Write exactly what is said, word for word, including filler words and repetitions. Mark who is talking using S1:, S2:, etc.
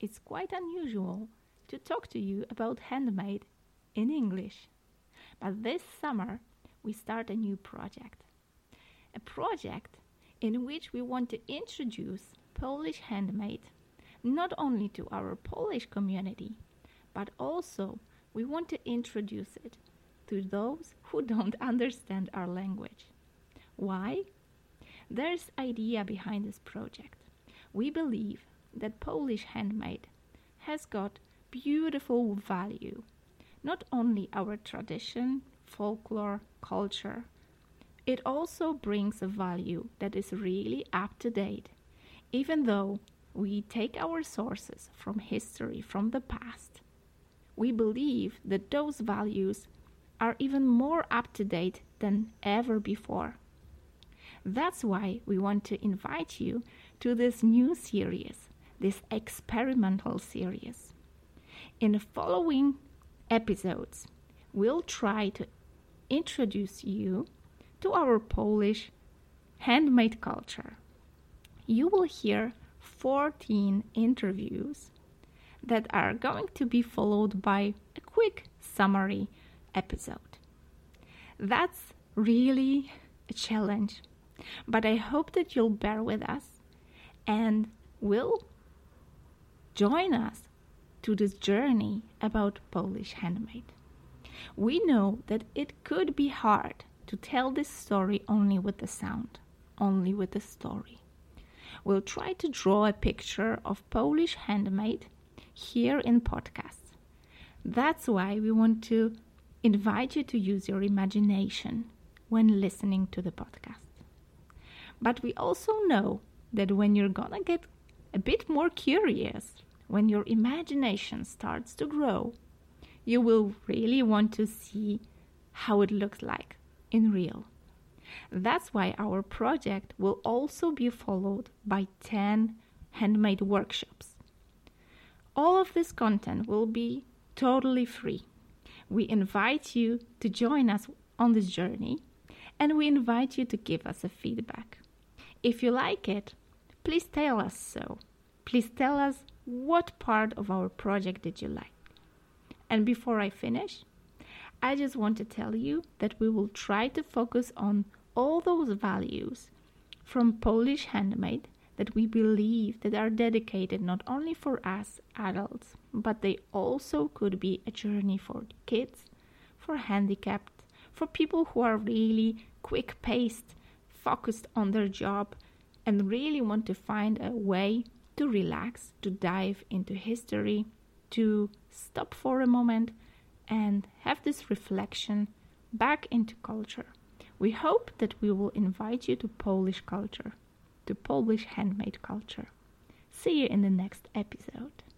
S1: it's quite unusual to talk to you about handmade in English. But this summer, we start a new project. A project in which we want to introduce Polish handmade not only to our Polish community, but also we want to introduce it to those who don't understand our language. Why? There's idea behind this project. We believe that Polish handmade has got beautiful value, not only our tradition, folklore, culture. It also brings a value that is really up to date, even though we take our sources from history from the past. We believe that those values are even more up to date than ever before. That's why we want to invite you to this new series, this experimental series. In the following episodes, we'll try to introduce you to our Polish handmade culture. You will hear fourteen interviews that are going to be followed by a quick summary episode. That's really a challenge, but I hope that you'll bear with us and will join us to this journey about Polish handmade. We know that it could be hard to tell this story only with the sound, only with the story. We'll try to draw a picture of Polish handmade here in podcasts. That's why we want to invite you to use your imagination when listening to the podcast. But we also know that when you're gonna get a bit more curious, when your imagination starts to grow, you will really want to see how it looks like in real. That's why our project will also be followed by ten handmade workshops. All of this content will be totally free. We invite you to join us on this journey, and we invite you to give us a feedback. If you like it, please tell us so. Please tell us what part of our project did you like. And before I finish, I just want to tell you that we will try to focus on all those values from Polish handmade that we believe that are dedicated not only for us adults, but they also could be a journey for kids, for handicapped, for people who are really quick-paced, focused on their job, and really want to find a way to relax, to dive into history, to stop for a moment and have this reflection back into culture. We hope that we will invite you to Polish culture, to Polish handmade culture. See you in the next episode.